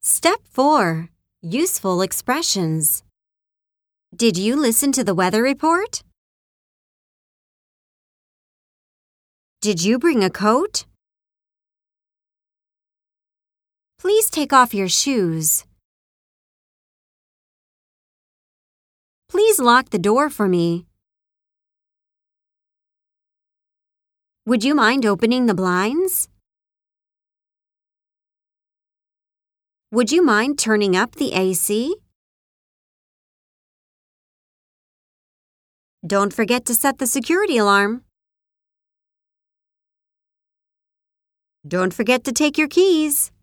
Step 4. Useful expressions. Did you listen to the weather report? Did you bring a coat? Please take off your shoes. Please lock the door for me. Would you mind opening the blinds? Would you mind turning up the AC? Don't forget to set the security alarm. Don't forget to take your keys.